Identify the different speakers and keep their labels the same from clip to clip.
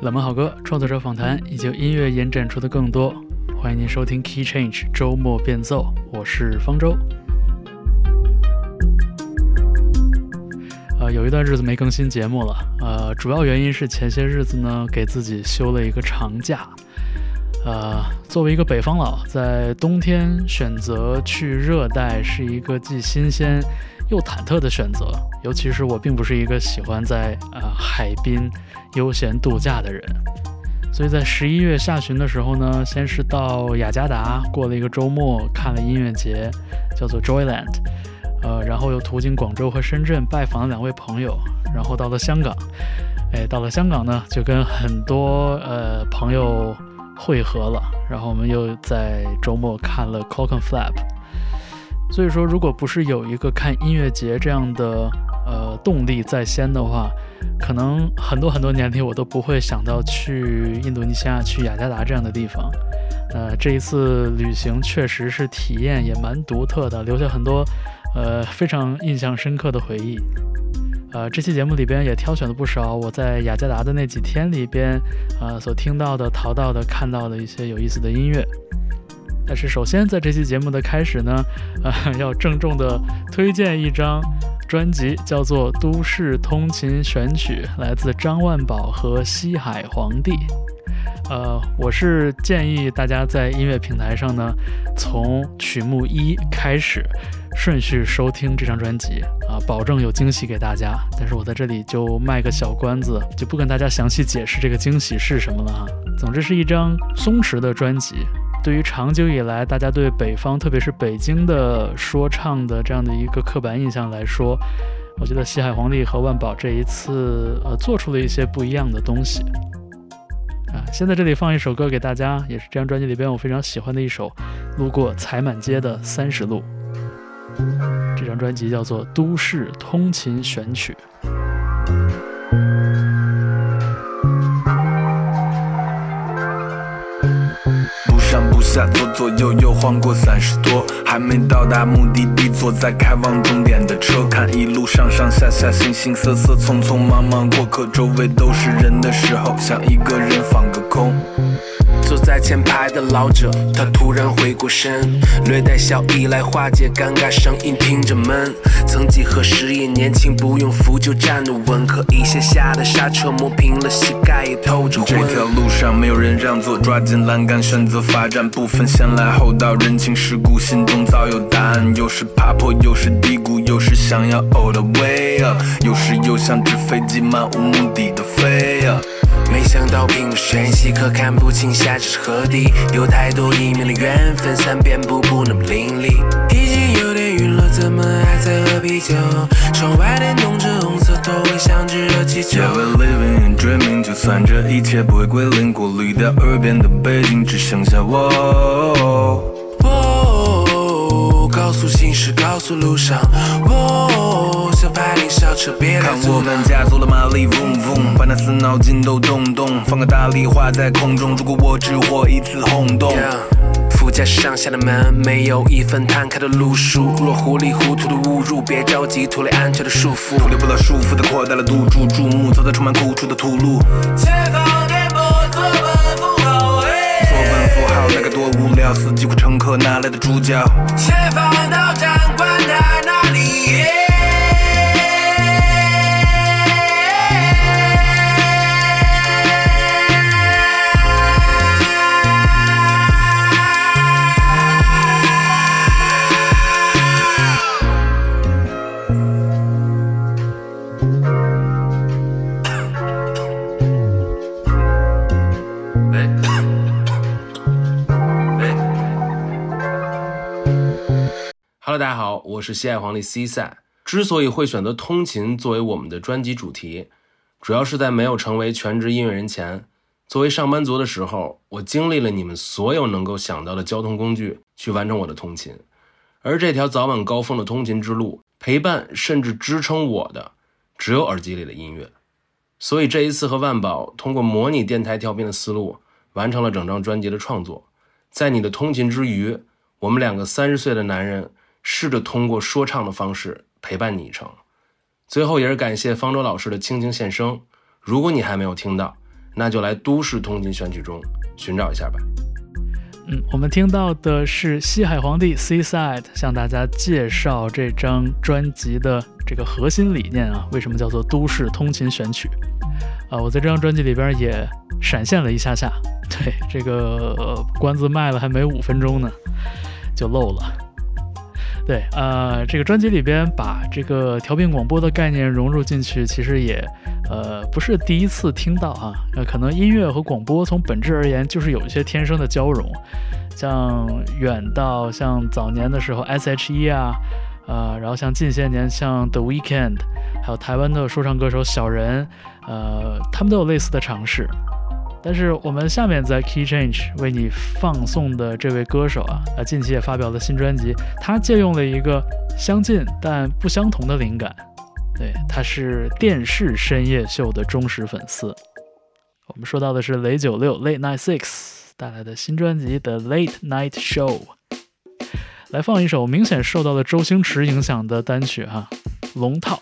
Speaker 1: 冷门好歌、创作者访谈以及音乐延展出的更多。欢迎您收听 Key Change 周末变奏，我是方舟。有一段日子没更新节目了，主要原因是前些日子呢给自己休了一个长假。作为一个北方佬，在冬天选择去热带是一个既新鲜又忐忑的选择，尤其是我并不是一个喜欢在海滨悠闲度假的人，所以在11月下旬的时候呢，先是到雅加达过了一个周末，看了音乐节，叫做 Joyland，然后又途经广州和深圳拜访了2位朋友，然后到了香港。到了香港呢，就跟很多朋友汇合了，然后我们又在周末看了 Clockenflap。 所以说如果不是有一个看音乐节这样的动力在先的话，可能很多年里我都不会想到去印度尼西亚、去雅加达这样的地方。这一次旅行确实是体验也蛮独特的，留下很多非常印象深刻的回忆。这期节目里边也挑选了不少我在雅加达的那几天里边所听到的、淘到的、看到的一些有意思的音乐。但是首先在这期节目的开始呢，要郑重的推荐一张专辑，叫做《都市通勤选曲》，来自张万宝和西海皇帝。我是建议大家在音乐平台上呢，从曲目1开始顺序收听这张专辑保证有惊喜给大家。但是我在这里就卖个小关子，就不跟大家详细解释这个惊喜是什么了总之是一张松弛的专辑。对于长久以来大家对北方，特别是北京的说唱的这样的一个刻板印象来说，我觉得西海皇帝和万宝这一次做出了一些不一样的东西。先在这里放一首歌给大家，也是这张专辑里边我非常喜欢的一首，路过踩满街的30路。这张专辑叫做《都市通勤选曲》。
Speaker 2: 不下左左右右晃过30多，还没到达目的地，坐在开往终点的车，看一路上上下下形形色色，匆匆忙忙过客，周围都是人的时候，想一个人放个空。坐在前排的老者，他突然回过身，略带笑意来化解尴尬，声音听着闷。曾几何时也年轻，不用扶就站得稳，可一下下的刹车磨平了膝盖，也透着昏。这条路上没有人让座，抓紧栏杆选择发展，不分先来后到，人情世故心中早有答案。又是爬坡，又是低谷，又是想要 all the way up， 有时又像纸飞机漫无目的的飞啊。没想到并不玄细，可看不清下这是何地，有太多一面的缘分，三遍步步那么凌厉。已经有点晕了，怎么还在喝啤酒？窗外电动车红色头尾像只热气球。Yeah, we're living and dreaming， 就算这一切不会归零，过滤掉耳边的背景，只剩下我。高速行驶，高速路上，小排铃小车别来阻挡。看我们加速了马力，嗡嗡，把那死脑筋都动动，放个大力画在空中。如果我只活一次轰动。副驾驶上下的门没有一份摊开的路数，若糊里糊涂的误入，别着急脱离安全的束缚，脱离不了束缚的扩大了赌注，注目走在充满苦楚的土路。前方颠簸，左奔符号，左奔符号那该多无聊，司机或乘客哪来的主角？前方到站，管他哪里。
Speaker 3: Hello， 大家好，我是西海皇帝 C 赛。之所以会选择通勤作为我们的专辑主题，主要是在没有成为全职音乐人前，作为上班族的时候，我经历了你们所有能够想到的交通工具去完成我的通勤。而这条早晚高峰的通勤之路，陪伴甚至支撑我的，只有耳机里的音乐。所以这一次和万宝通过模拟电台调频的思路，完成了整张专辑的创作。在你的通勤之余，我们2个30岁的男人试着通过说唱的方式陪伴你一程。最后也是感谢方舟老师的倾情献声，如果你还没有听到， 那就来都市通勤选曲中寻找一下吧。
Speaker 1: 我们听到的是西海皇帝 Seaside 向大家介绍这张专辑的这个核心理念啊，为什么叫做都市通勤选曲我在这张专辑里边也闪现了一下，对，这个关子卖了还没5分钟呢，就漏了。对，这个专辑里边把这个调频广播的概念融入进去，其实也不是第一次听到啊。可能音乐和广播从本质而言就是有一些天生的交融，像远到像早年的时候 S.H.E 啊，然后像近些年像 The Weeknd， 还有台湾的说唱歌手小人，他们都有类似的尝试。但是我们下面在 Key Change 为你放送的这位歌手近期也发表了新专辑，他借用了一个相近但不相同的灵感。对，他是电视深夜秀的忠实粉丝。我们说到的是雷96 Late Night 6带来的新专辑的 Late Night Show。来放一首明显受到了周星驰影响的单曲龙套。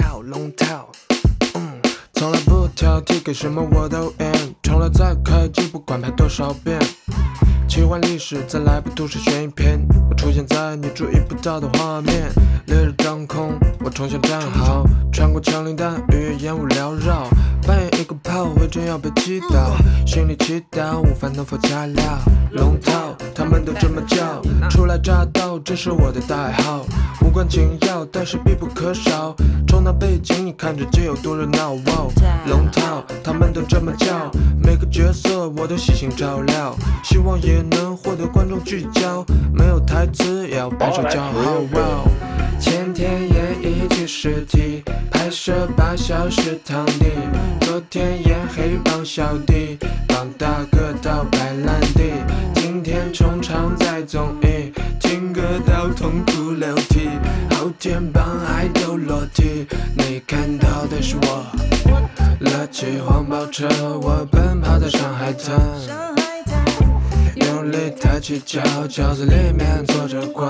Speaker 4: 从来不挑剔，给什么我都 in， 从来再开机不管拍多少遍，奇幻历史再来部都市悬疑片，我出现在你注意不到的画面，烈日当空，我冲向战壕，穿过枪林弹雨，烟雾缭绕，扮演一个炮灰，真要被击倒，心里祈祷午饭能否加料，龙套他们都这么叫，初来乍到这是我的代号，无关紧要但是必不可少，冲到背景你看着就有多热闹，龙套他们都这么叫，每个角色我都细心照料，希望也能获得观众聚焦，没有台词也要拍手叫好。前天演一具尸体，拍摄8小时躺地，昨天演黑帮小弟，帮大哥到白兰地，今天冲场在综艺，听歌到痛哭流涕，后天帮爱豆裸体，你看到的是我勒起黄包车，我奔跑在上海滩，用力抬起脚，轿子里面坐着官，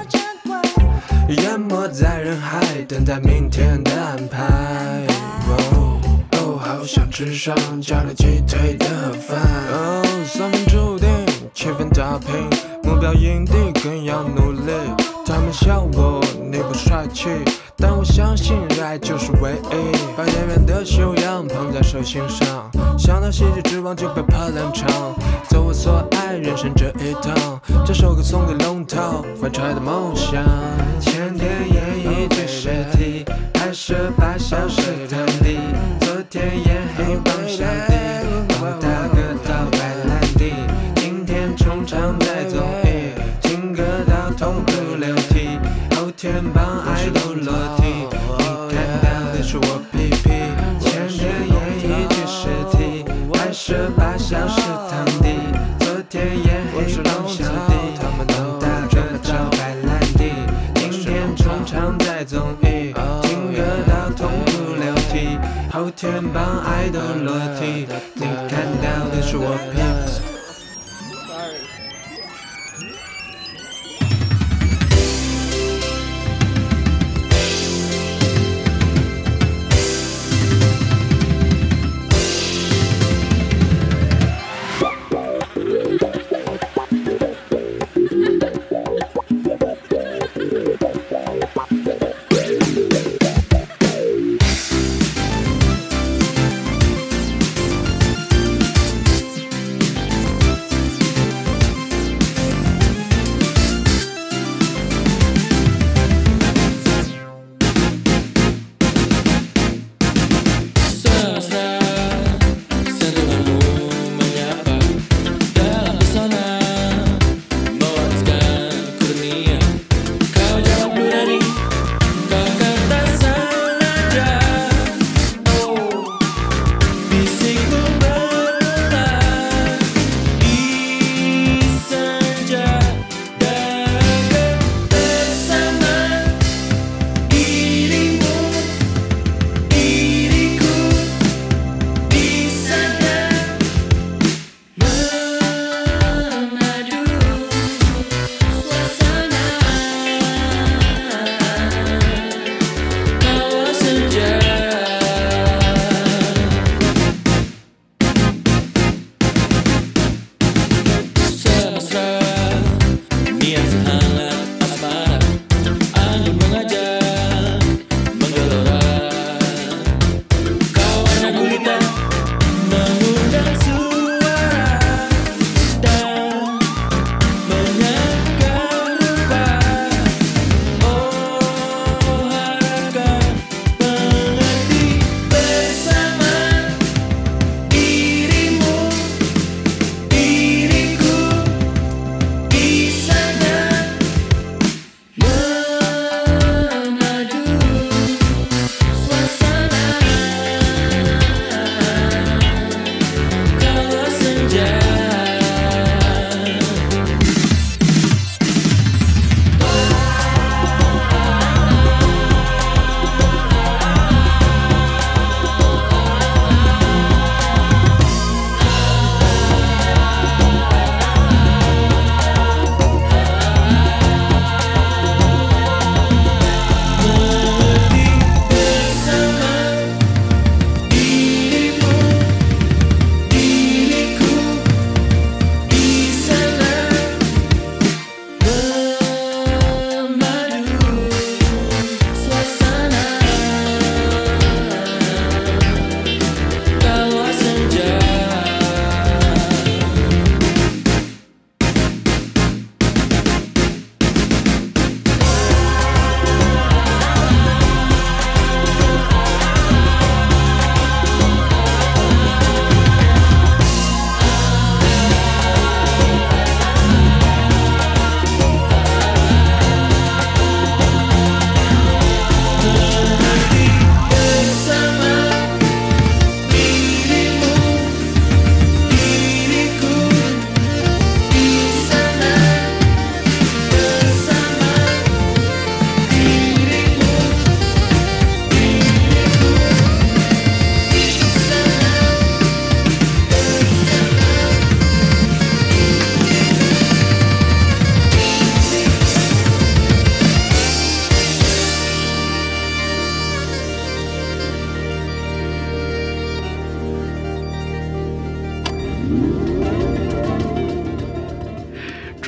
Speaker 4: 淹没在人海，等待明天的安排。好想吃上加了鸡腿的饭。3分注定7分打拼，目标营地更要努力。他们笑我你不帅气，但我相信热爱就是唯一。把演员的修养捧在手心上，想到喜剧之王就被怕冷场。走我所爱人生这一趟，这首歌送给龙套怀揣的梦想。前天演一具尸体，拍摄8小时躺地，昨天演黑帮小弟，帮大哥到白兰地，今天冲场在综艺，听歌到痛哭流涕，后天帮爱豆裸体，你看到的是我屁屁。前天演一具尸体，拍摄8小时躺地，昨天演黑帮小弟，帮大哥到白兰地，今天冲场在综艺，听歌到痛哭流涕，后天帮爱豆裸体，你看到的是我屁屁。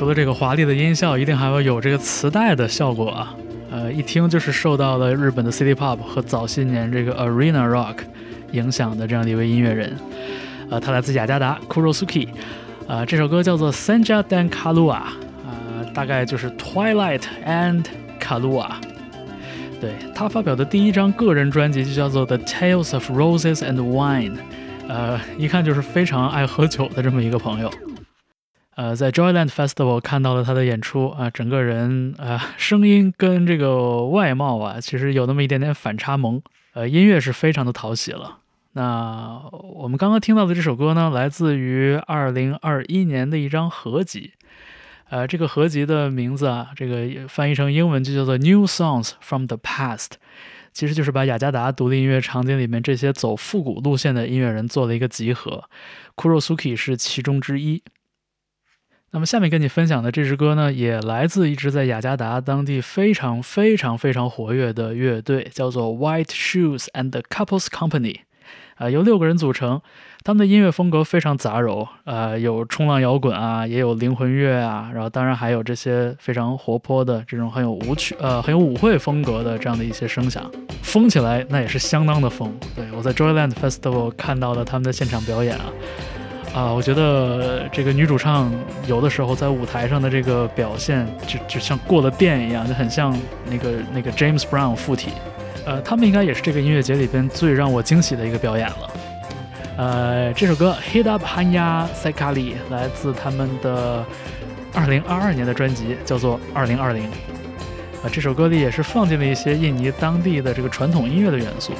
Speaker 1: 除了这个华丽的音效，一定还要有这个磁带的效果啊。一听就是受到了日本的 City Pop 和早些年这个 Arena Rock 影响的这样的一位音乐人。他来自雅加达 Kurosuke。这首歌叫做 Senja dan Kalua，大概就是 Twilight and Kalua。对，他发表的第一张个人专辑就叫做 The Tales of Roses and Wine，一看就是非常爱喝酒的这么一个朋友。在 Joyland Festival 看到了他的演出啊，整个人声音跟这个外貌啊，其实有那么一点点反差萌。音乐是非常的讨喜了。那我们刚刚听到的这首歌呢，来自于2021年的一张合集。这个合集的名字啊，这个翻译成英文就叫做 New Songs from the Past， 其实就是把雅加达独立音乐场景里面这些走复古路线的音乐人做了一个集合， Kurosuke 是其中之一。那么下面跟你分享的这支歌呢，也来自一支在雅加达当地非常活跃的乐队，叫做 White Shoes and the Couples Company，由6个人组成，他们的音乐风格非常杂糅，有冲浪摇滚啊，也有灵魂乐啊，然后当然还有这些非常活泼的这种很有舞会风格的这样的一些声响，疯起来那也是相当的疯。对，我在 Joyland Festival 看到了他们的现场表演我觉得这个女主唱有的时候在舞台上的这个表现就像过了电一样，就很像那个 James Brown 附体。他们应该也是这个音乐节里边最让我惊喜的一个表演了。这首歌 Hit Up Hanya Sekali 来自他们的2022年的专辑，叫做2020。这首歌里也是放进了一些印尼当地的这个传统音乐的元素。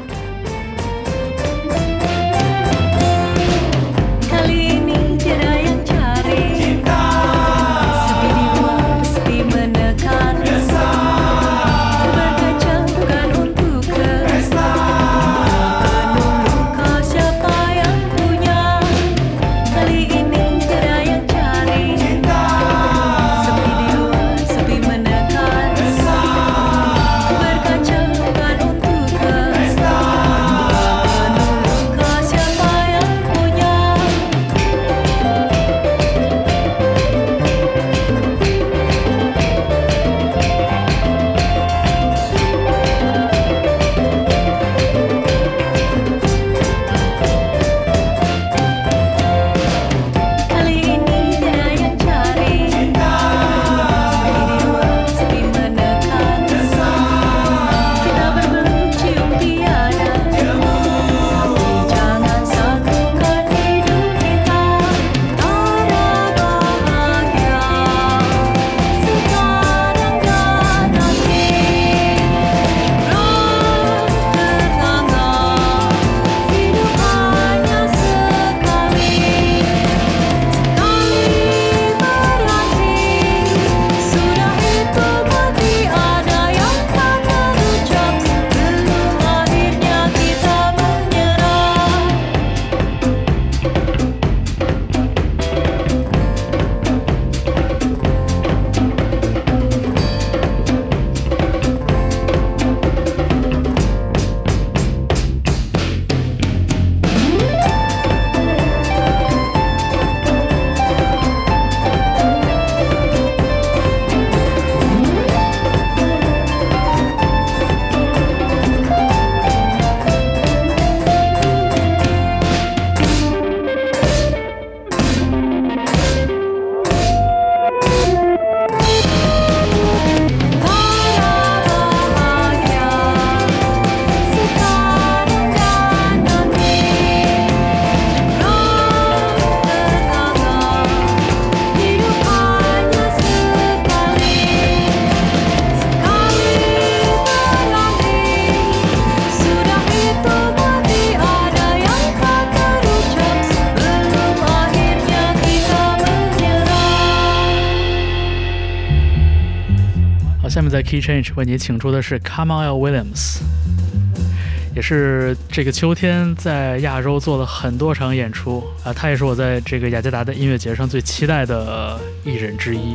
Speaker 1: 下面在 Key Change 为你请出的是 Kamail Williams， 也是这个秋天在亚洲做了很多场演出他也是我在这个雅加达的音乐节上最期待的艺人之一。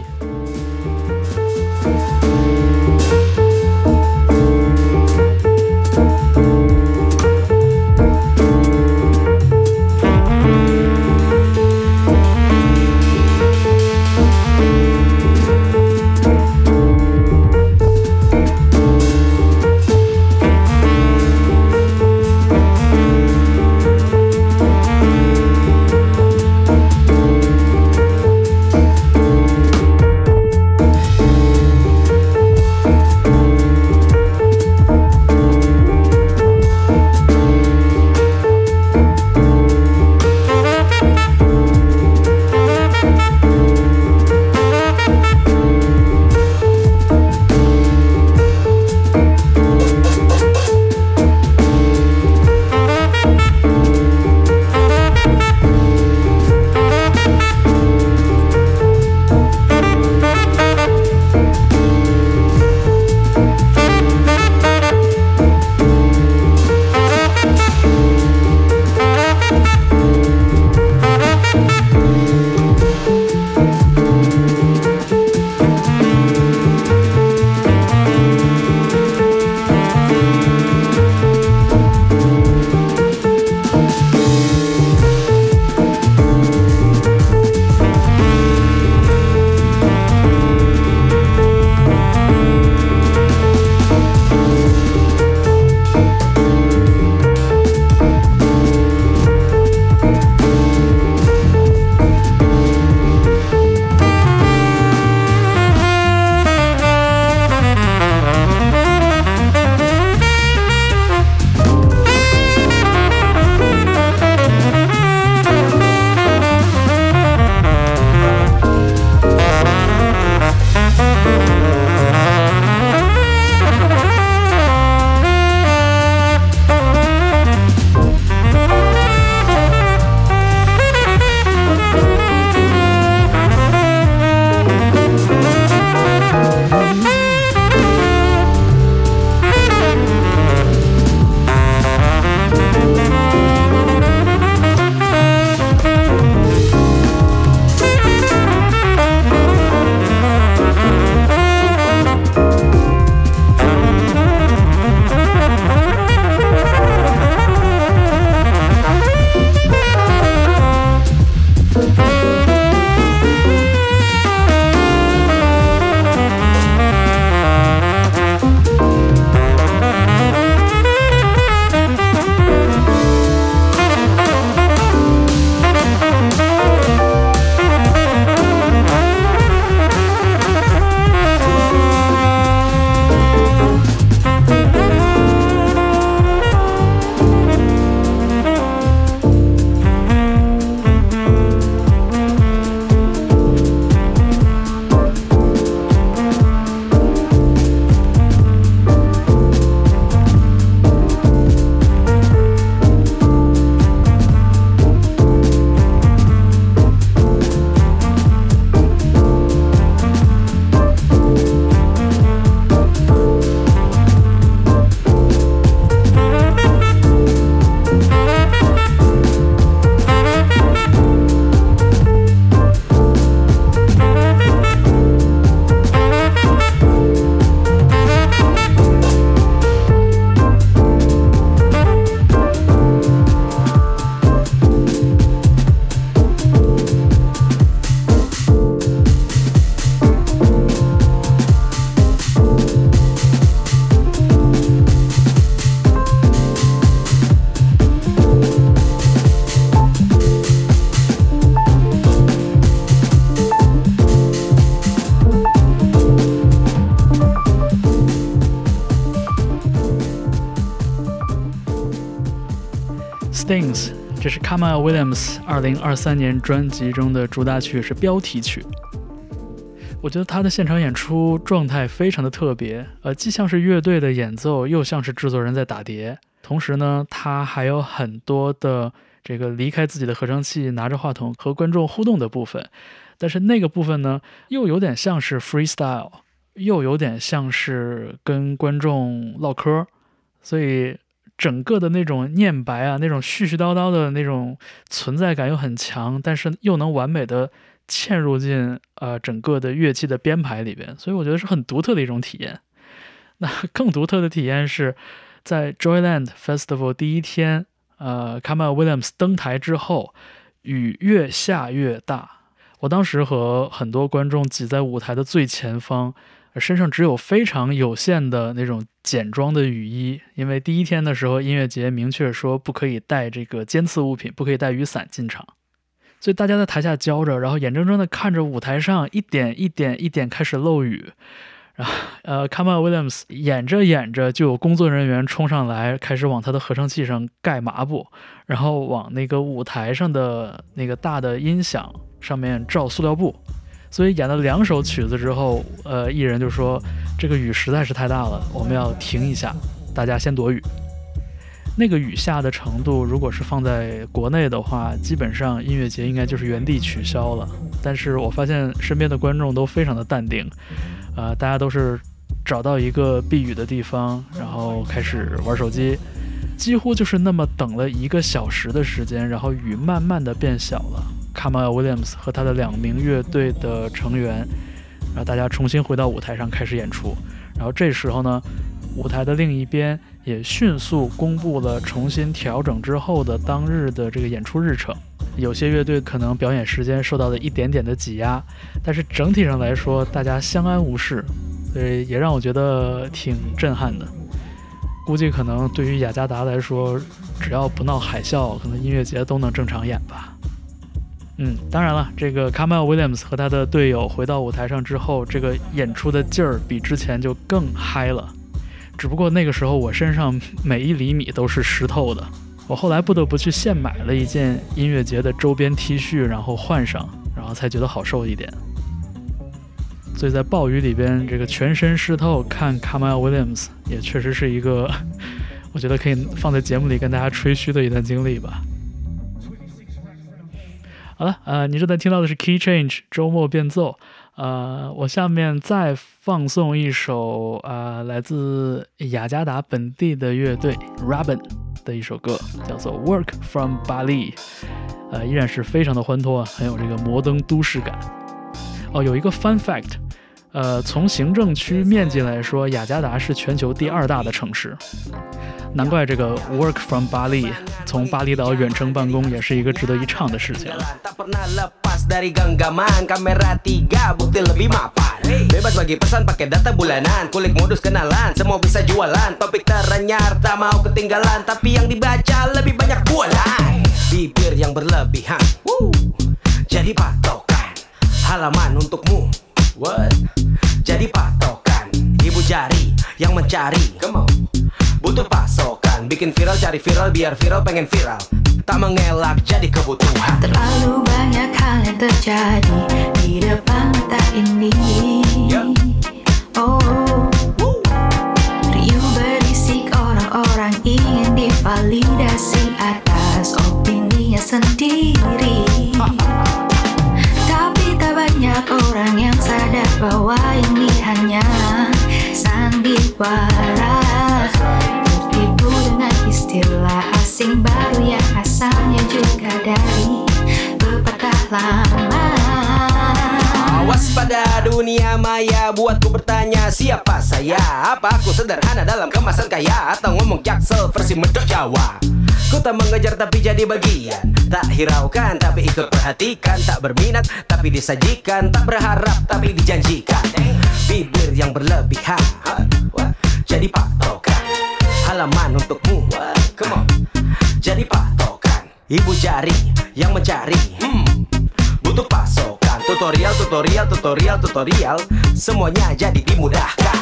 Speaker 1: Stings， 这是 Kamaal Williams 2023年专辑中的主打曲，是标题曲。我觉得他的现场演出状态非常的特别，既像是乐队的演奏，又像是制作人在打碟。同时呢，他还有很多的这个离开自己的合成器，拿着话筒和观众互动的部分。但是那个部分呢，又有点像是 freestyle， 又有点像是跟观众唠嗑，所以整个的那种念白啊，那种絮絮叨叨的那种存在感又很强，但是又能完美的嵌入进整个的乐器的编排里边，所以我觉得是很独特的一种体验。那更独特的体验是在 Joyland Festival 第一天Kamaal Williams 登台之后，雨越下越大，我当时和很多观众挤在舞台的最前方，身上只有非常有限的那种简装的雨衣，因为第一天的时候音乐节明确说不可以带这个尖刺物品，不可以带雨伞进场，所以大家在台下浇着，然后眼睁睁地看着舞台上一点一点一点开始漏雨，然后Kamaal Williams 演着演着就有工作人员冲上来，开始往他的合成器上盖抹布，然后往那个舞台上的那个大的音响上面罩塑料布。所以演了2首曲子之后，艺人就说这个雨实在是太大了，我们要停一下，大家先躲雨。那个雨下的程度，如果是放在国内的话，基本上音乐节应该就是原地取消了。但是我发现身边的观众都非常的淡定，大家都是找到一个避雨的地方，然后开始玩手机，几乎就是那么等了1个小时的时间，然后雨慢慢的变小了。Kamaal Williams 和他的2名乐队的成员，然后大家重新回到舞台上开始演出。然后这时候呢，舞台的另一边也迅速公布了重新调整之后的当日的这个演出日程。有些乐队可能表演时间受到了一点点的挤压，但是整体上来说大家相安无事，所以也让我觉得挺震撼的。估计可能对于雅加达来说，只要不闹海啸，可能音乐节都能正常演吧。当然了，这个 Kamaal Williams 和他的队友回到舞台上之后，这个演出的劲儿比之前就更嗨了。只不过那个时候我身上每1厘米都是湿透的，我后来不得不去现买了一件音乐节的周边 T 恤，然后换上，然后才觉得好受一点。所以在暴雨里边，这个全身湿透看 Kamaal Williams 也确实是一个我觉得可以放在节目里跟大家吹嘘的一段经历吧。好了，你正在听到的是 Key Change 周末变奏。我下面再放送一首来自雅加达本地的乐队 Robin 的一首歌，叫做 Work from Bali， 依然是非常的欢脱，很有这个摩登都市感。有一个 fun fact， 从行政区面积来说，雅加达是全球第2大的城市。难怪这个 Work from Bali 从巴厘岛远程办公也是一个值得一唱的事情。
Speaker 5: Dari genggaman kamera 3 bukti lebih mapan bebas bagi pesan pakai data bulanan kulik modus kenalan semua bisa jualan topik teranyar tak mau ketinggalan tapi yang dibaca lebih banyak bualan bibir yang berlebihan jadi patokan halaman untukmu jadi patokan ibu jari yang mencari butuh pasokan bikin viral cari viral biar viral pengen viral tak mengelak jadi kebutuhan.
Speaker 6: Terlalu banyak hal yang terjadi di depan mata ini. Riuh berisik orang-orang ingin divalidasi atas opininya sendiri. Tapi tak banyak orang yang sadar bahwa ini hanya sandiwara. Tertipu dengan istilah asing baru yang asalnya juga dari pepatah lama.
Speaker 5: Awas pada dunia maya buatku bertanya siapa saya. Apa aku sederhana dalam kemasan kaya atau ngomong jaksel versi medok Jawa. Ku tak mengejar tapi jadi bagian, tak hiraukan tapi ikut perhatikan, tak berminat tapi disajikan, tak berharap tapi dijanjikan. Bibir yang berlebihan jadi patokan halaman untukmu. Come on. Jadi patokan ibu jari yang mencari butuh pasokan tutorial semuanya jadi dimudahkan.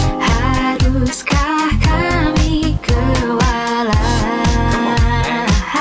Speaker 6: Haruskah kami kewalahan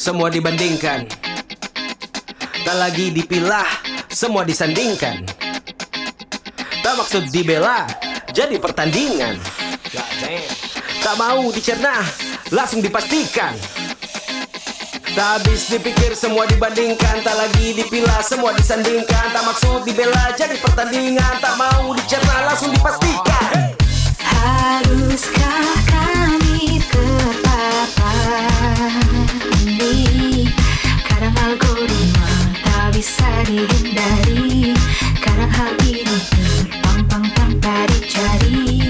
Speaker 5: semua dibandingkan. Tak lagi dipilah, semua disandingkan. Tak maksud dibela, jadi pertandingan. Tak mau dicerna, langsung dipastikan. Tak habis dipikir, semua dibandingkan. Tak lagi dipilah, semua disandingkan. Tak maksud dibela, jadi pertandingan. Tak mau dicerna, langsung dipastikan.
Speaker 6: Haruskah kami terpapar ini? Kadang algoritma tak bisa dihindari. Kadang hal ini terpampang tanpa dicari.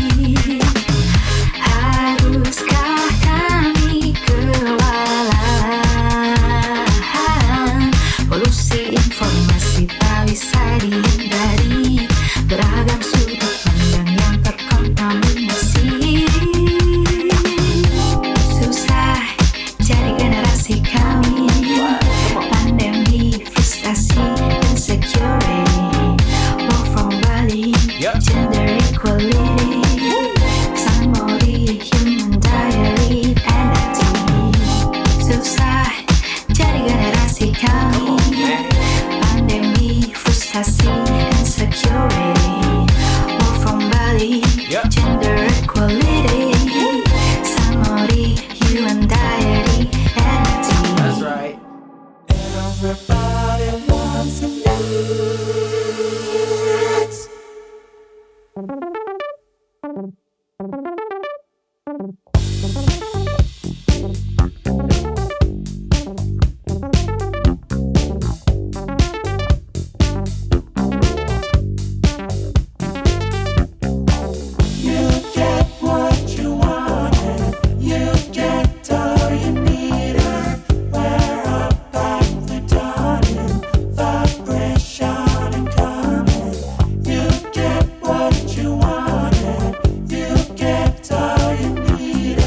Speaker 6: Haruskah kami kewalahan? Polusi informasi tak bisa dihindari. Beragam sudut pandang yang terkontaminasi. Susah jadi generasi kami. Pandemi, frustasi, insecurity. Walk from Bali, gender equality. Somebody, human diary, NFT. Susah jadi generasi kami. Pandemi, frustasi, insecurity. Walk from Bali, gender equality. Somebody, human diary, NFT.
Speaker 5: That's right.
Speaker 4: Everybody wants to dance. You get what you wanted. You get all you needed. We're up at the dawning, vibration incoming. You get what you wanted. You get all you needed.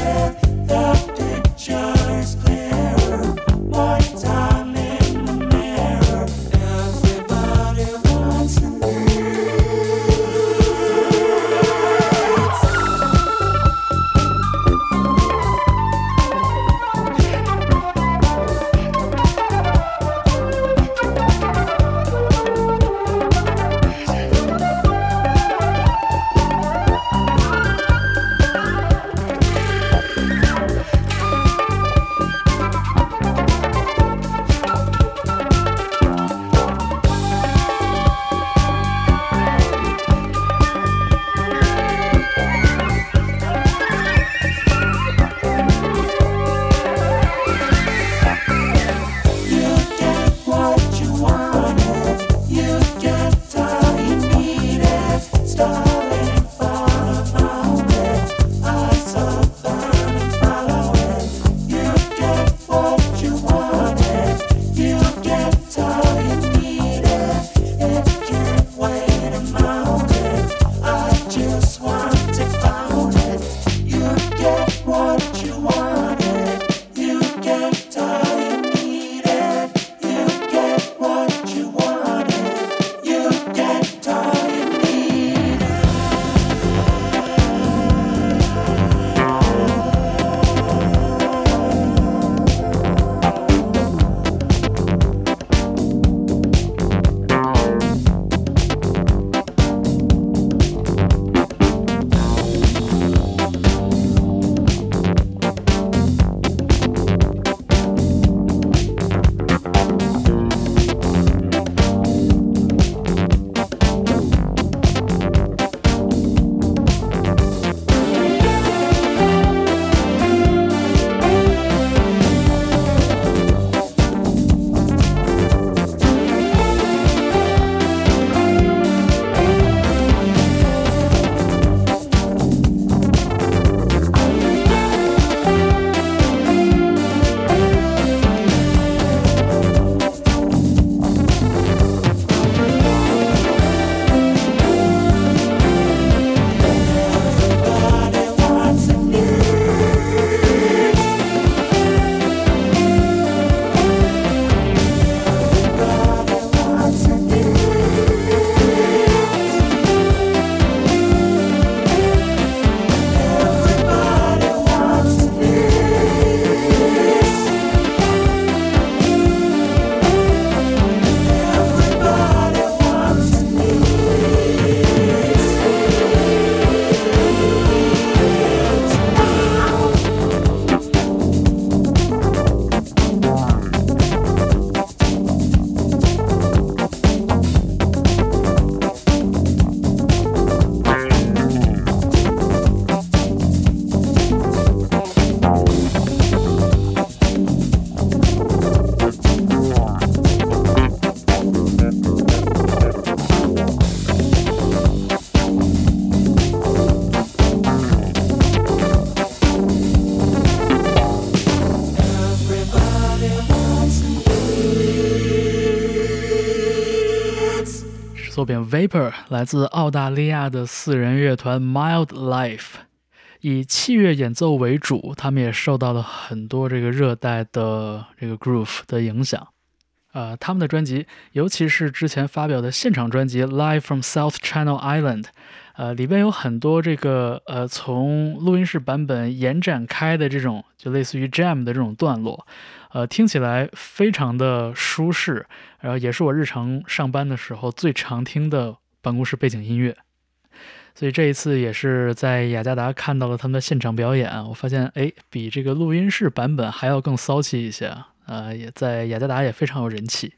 Speaker 1: 作品 Vapor 来自澳大利亚的4人乐团 Mild Life， 以器乐演奏为主，他们也受到了很多这个热带的这个 groove 的影响。他们的专辑，尤其是之前发表的现场专辑 Live from South Channel Island，里边有很多这个从录音室版本延展开的这种就类似于 jam 的这种段落，听起来非常的舒适，然后也是我日常上班的时候最常听的办公室背景音乐。所以这一次也是在雅加达看到了他们的现场表演，我发现比这个录音室版本还要更骚气一些，也在雅加达也非常有人气。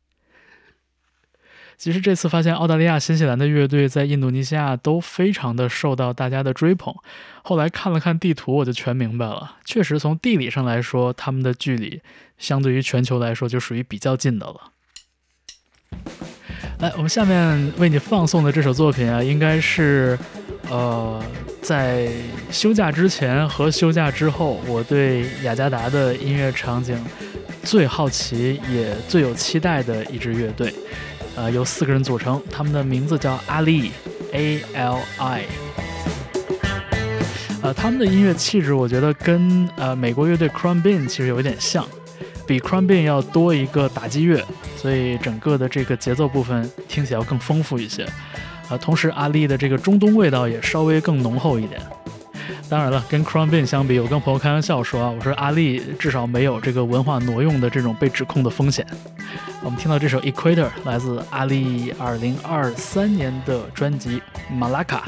Speaker 1: 其实这次发现澳大利亚、新西兰的乐队在印度尼西亚都非常的受到大家的追捧，后来看了看地图我就全明白了，确实从地理上来说他们的距离相对于全球来说就属于比较近的了。来，我们下面为你放送的这首作品应该是在休假之前和休假之后我对雅加达的音乐场景最好奇也最有期待的一支乐队，由4个人组成，他们的名字叫阿力 ALI。他们的音乐气质我觉得跟美国乐队 Crumbin 其实有一点像，比 Crumbin 要多一个打击乐，所以整个的这个节奏部分听起来要更丰富一些。同时阿力的这个中东味道也稍微更浓厚一点。当然了，跟 Crumbin 相比，我跟朋友开玩笑说我说阿力至少没有这个文化挪用的这种被指控的风险。我们听到这首 Equator 来自阿力2023年的专辑 Malacca。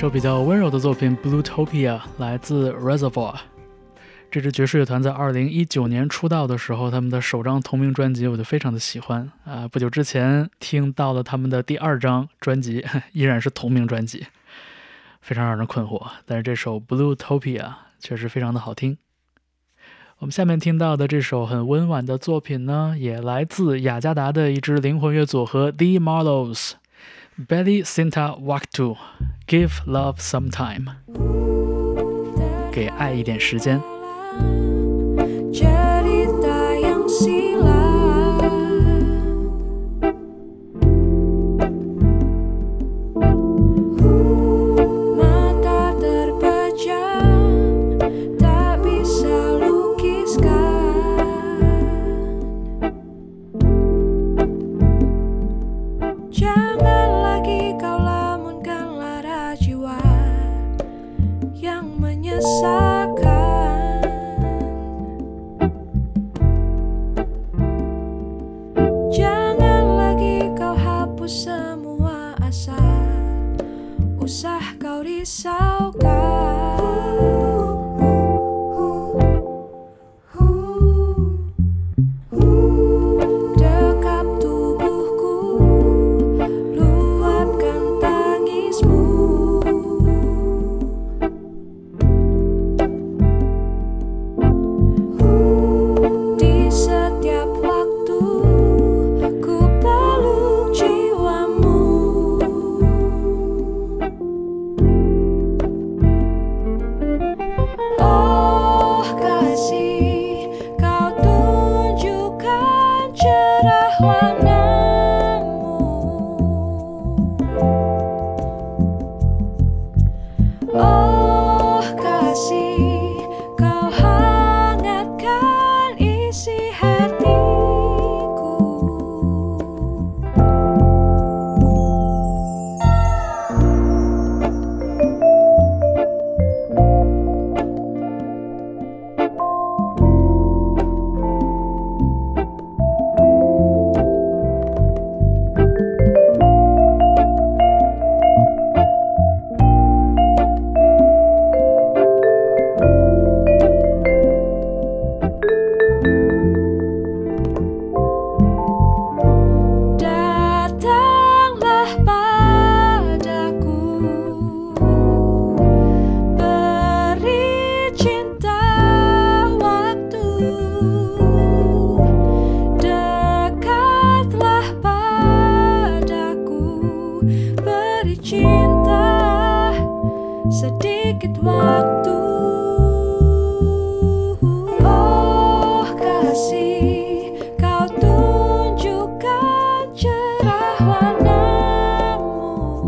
Speaker 1: 首比较温柔的作品 Bluetopia 来自 Reservoir。 这支爵士乐团在2019年出道的时候，他们的首张同名专辑我就非常的喜欢不久之前听到了他们的第2张专辑，依然是同名专辑，非常让人困惑，但是这首 Bluetopia 确实非常的好听。我们下面听到的这首很温婉的作品呢，也来自雅加达的一支灵魂乐组合 The Marlows。 Belly Sinta Waktu Give Love Some Time， 给爱一点时间。
Speaker 7: Cerita yang silam, mata terpejam, tak bisa lukiskan. Jangan lagi kau lamunkan lara jiwa yang menyesakan. Semua asa usah kau risaukan. Dekap tubuhku, luapkan tangismu. Di setiap waktu ku peluk jiwamu. Oh kasih, kau tunjukkan cerah warnamu. Oh kasih, kau hangatkan isi hatiku. Datanglah padaku, beri cinta waktu. Dekatlah padaku, beri cinta sedikit waktu. Oh kasih, kau tunjukkan cerah warnamu.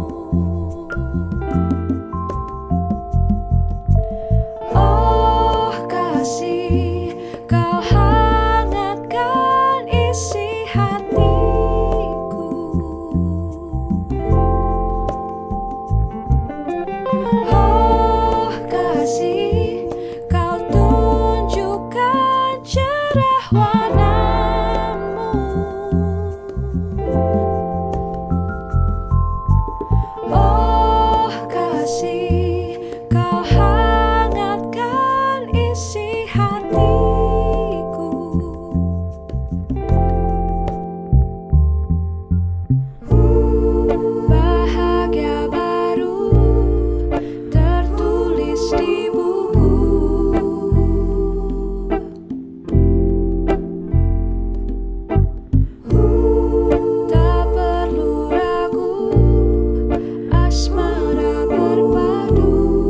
Speaker 7: Oh kasih, kau hangatkan isi hatiku. Oh kasih, kau tunjukkan cerah warnamu. Oh kasih, kau hangatkan isi hatiku. Bahagia baru tertulis di buku. Tak perlu ragu, asmara berpadu.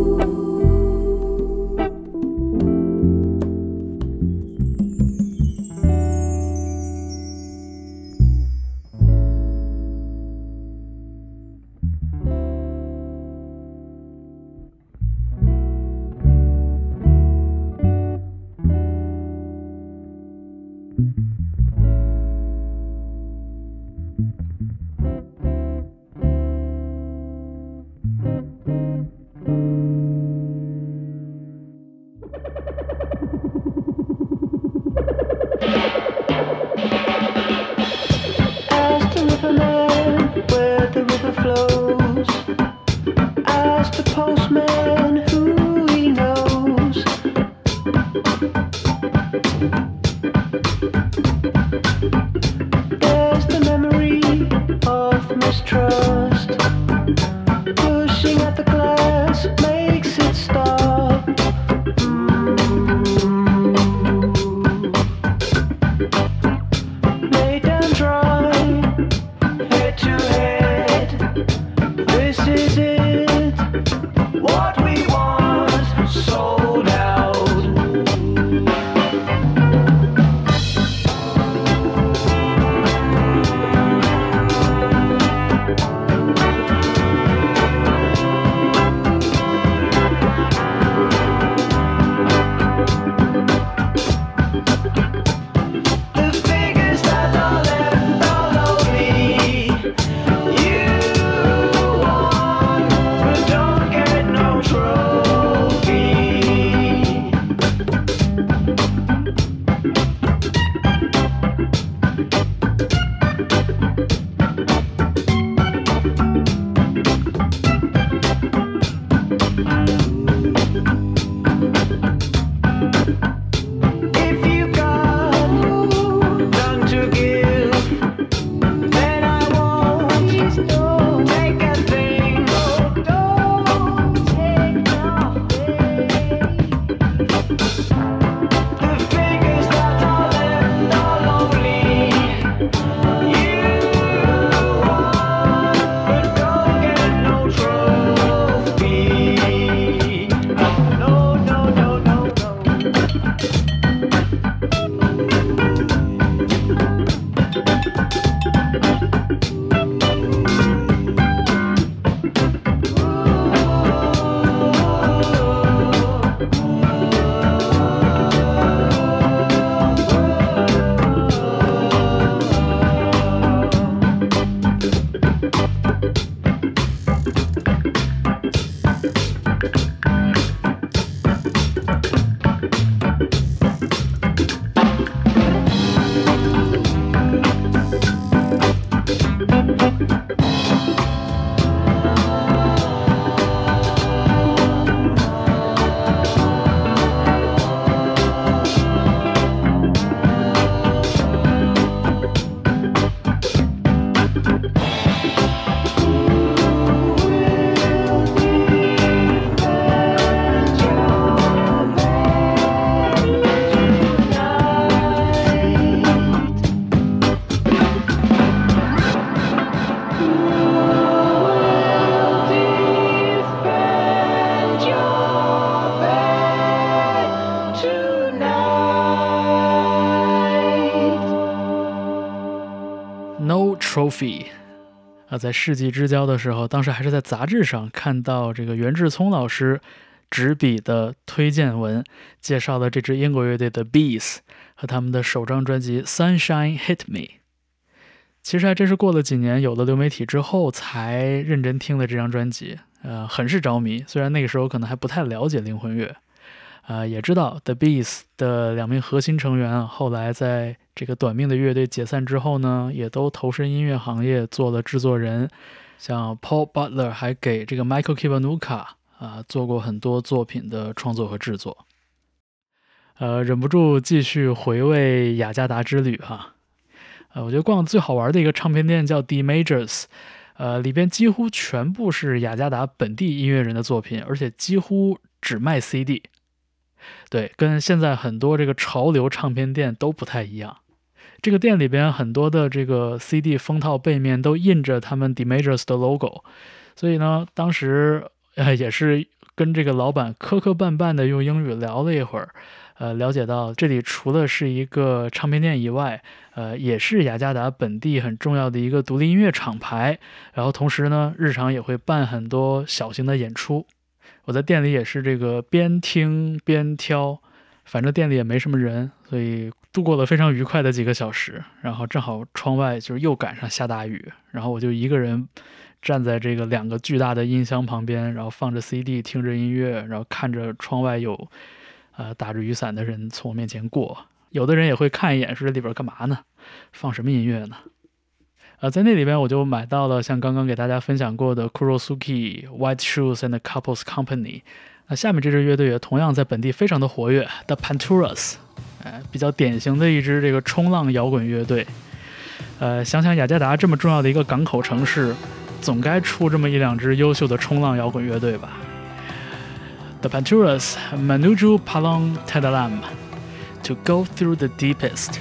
Speaker 8: As the river led where the river flows, as the
Speaker 1: Trophy。在世纪之交的时候，当时还是在杂志上看到这个袁志聪老师执笔的推荐文，介绍了这支英国乐队的 Bees 和他们的首张专辑 Sunshine Hit Me。 其实还真是过了几年，有了流媒体之后才认真听了这张专辑，很是着迷。虽然那个时候可能还不太了解灵魂乐，也知道 The Bees 的2名核心成员后来在这个短命的乐队解散之后呢，也都投身音乐行业做了制作人，像 Paul Butler 还给这个 Michael Kiwanuka做过很多作品的创作和制作。忍不住继续回味雅加达之旅哈。我觉得逛最好玩的一个唱片店叫 D Majors， 里边几乎全部是雅加达本地音乐人的作品，而且几乎只卖 CD。 对，跟现在很多这个潮流唱片店都不太一样。这个店里边很多的这个 CD 封套背面都印着他们 D Majors 的 logo， 所以呢，当时也是跟这个老板磕磕绊绊的用英语聊了一会儿，了解到这里除了是一个唱片店以外，也是雅加达本地很重要的一个独立音乐厂牌，然后同时呢，日常也会办很多小型的演出。我在店里也是这个边听边挑，反正店里也没什么人，所以度过了非常愉快的几个小时。然后正好窗外就是又赶上下大雨，然后我就一个人站在这个2个巨大的音箱旁边，然后放着 CD 听着音乐，然后看着窗外有打着雨伞的人从我面前过。有的人也会看一眼，说这里边干嘛呢？放什么音乐呢？在那里边我就买到了像刚刚给大家分享过的 Kurosuke、White Shoes and the Couples Company。下面这支乐队也同样在本地非常的活跃 ，The Panturas，比较典型的一支这个冲浪摇滚乐队。想想雅加达这么重要的一个港口城市，总该出这么1-2支优秀的冲浪摇滚乐队吧。The Panturas Menuju Palong Tadalam To Go Through the Deepest。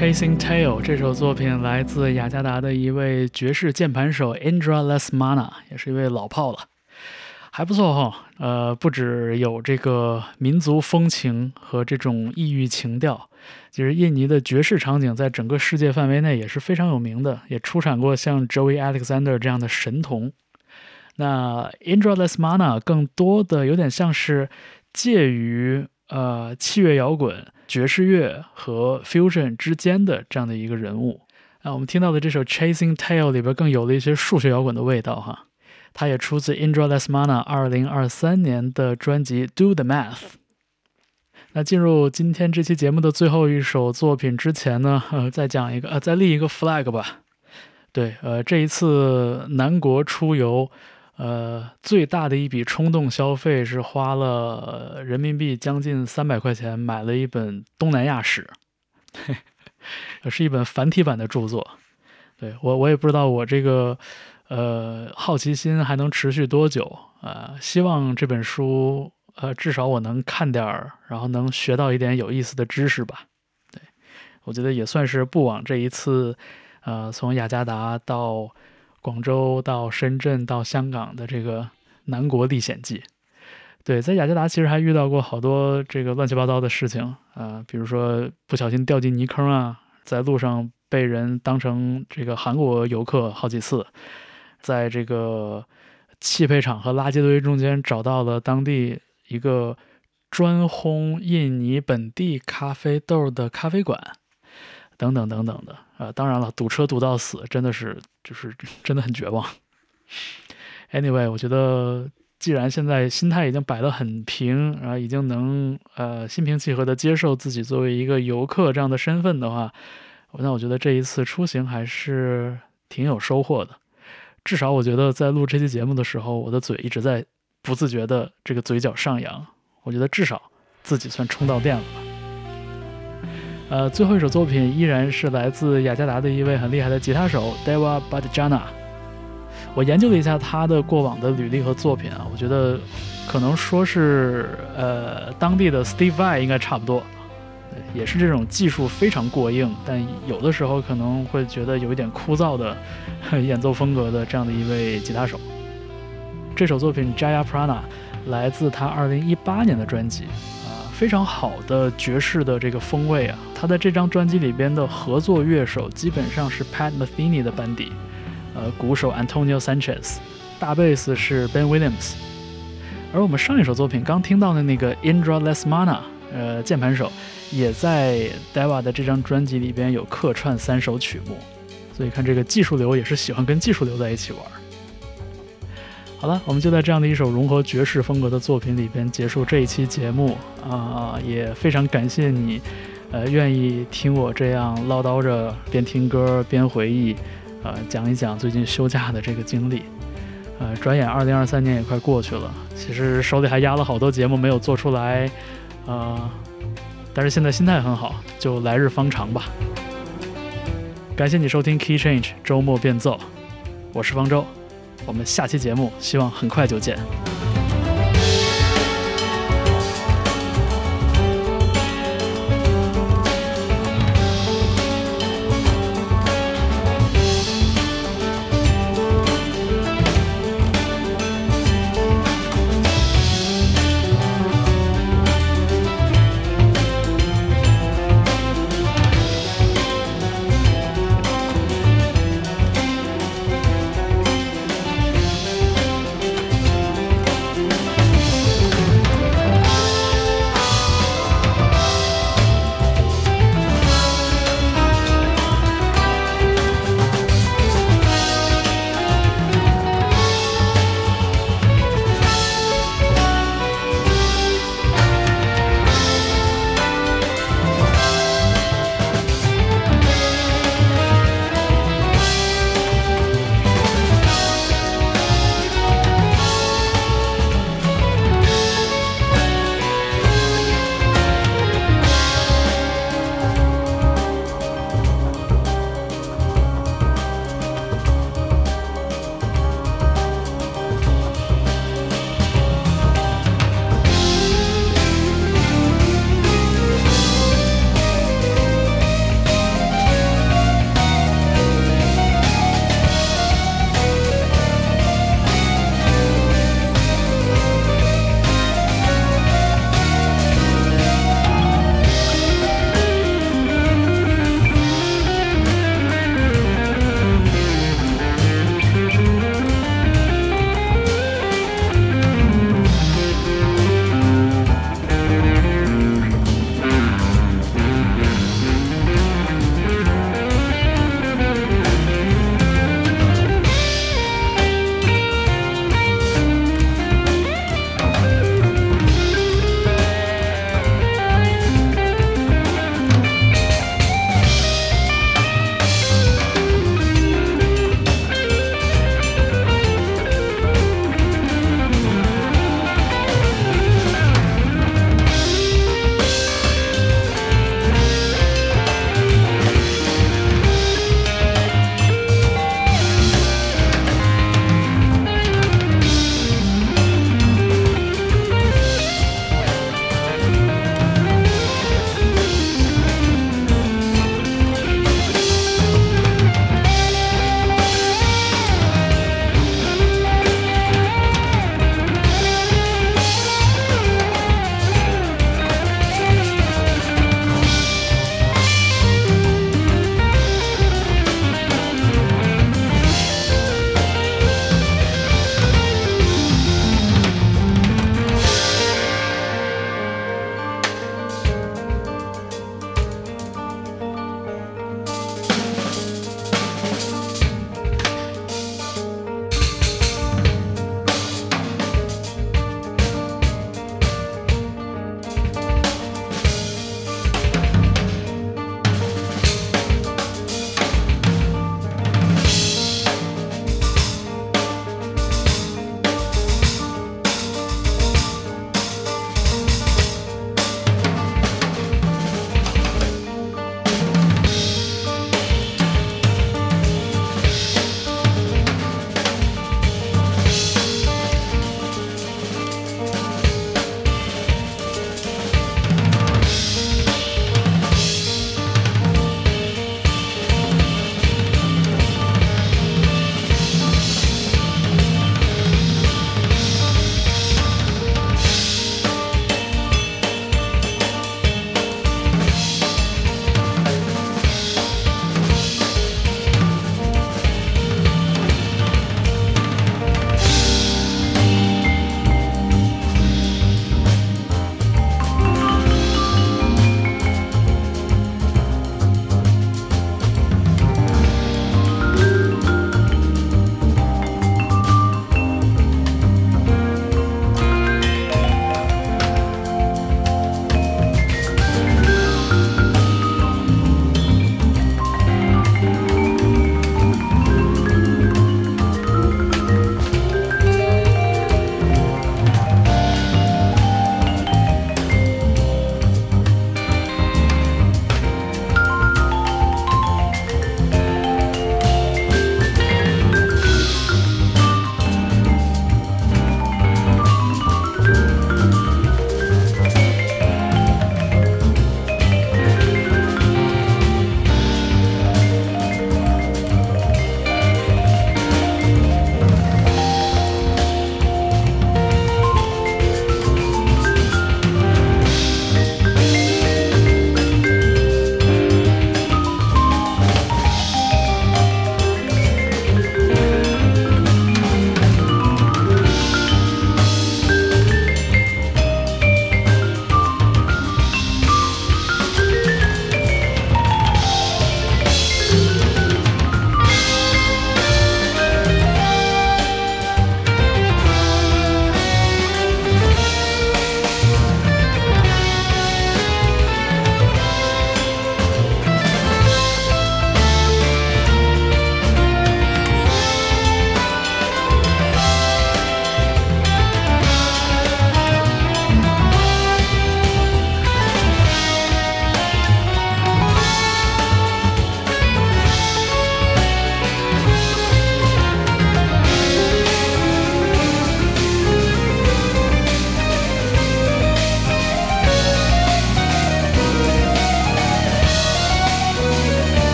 Speaker 1: Chasing Tail 这首作品来自雅加达的一位爵士键盘手 Indra Lesmana， 也是一位老炮了，还不错哈。不只有这个民族风情和这种异域情调，其实印尼的爵士场景在整个世界范围内也是非常有名的，也出产过像 Joey Alexander 这样的神童。那 Indra Lesmana 更多的有点像是介于器乐摇滚、爵士乐和 fusion 之间的这样的一个人物。我们听到的这首 Chasing Tail 里边更有了一些数学摇滚的味道哈。它也出自 Indra Lesmana 2023年的专辑 Do the Math。 那进入今天这期节目的最后一首作品之前呢，再立一个 flag 吧。对，这一次南国出游，最大的一笔冲动消费是花了人民币将近300块钱买了一本东南亚史，是一本繁体版的著作。对，我也不知道我这个好奇心还能持续多久，希望这本书至少我能看点儿，然后能学到一点有意思的知识吧。对，我觉得也算是不枉这一次从雅加达到广州到深圳到香港的这个南国历险记。对，在雅加达其实还遇到过好多这个乱七八糟的事情，比如说不小心掉进泥坑啊，在路上被人当成这个韩国游客好几次，在这个汽配厂和垃圾堆中间找到了当地一个专烘印尼本地咖啡豆的咖啡馆，等等等等的。当然了，堵车堵到死，真的是真的很绝望。Anyway， 我觉得既然现在心态已经摆得很平，然后已经能心平气和地接受自己作为一个游客这样的身份的话，那我觉得这一次出行还是挺有收获的。至少我觉得在录这期节目的时候，我的嘴一直在不自觉的这个嘴角上扬，我觉得至少自己算充到电了吧。最后一首作品依然是来自雅加达的一位很厉害的吉他手 Dewa Badjana。 我研究了一下他的过往的履历和作品我觉得可能说是当地的 Steve Vai 应该差不多，也是这种技术非常过硬，但有的时候可能会觉得有一点枯燥的演奏风格的这样的一位吉他手。这首作品 Jaya Prana 来自他2018年的专辑，非常好的爵士的这个风味啊。他在这张专辑里边的合作乐手基本上是 Pat Metheny 的班底，鼓手 Antonio Sanchez， 大贝斯是 Ben Williams。 而我们上一首作品刚听到的那个 Indra Lesmana， 键盘手也在 Dewa 的这张专辑里边有客串3首曲目，所以看这个技术流也是喜欢跟技术流在一起玩。好了，我们就在这样的一首融合爵士风格的作品里边结束这一期节目也非常感谢你愿意听我这样唠叨着边听歌边回忆讲一讲最近休假的这个经历。转眼2023年也快过去了，其实手里还压了好多节目没有做出来但是现在心态很好，就来日方长吧。感谢你收听 Key Change 周末变奏，我是方舟，我们下期节目希望很快就见。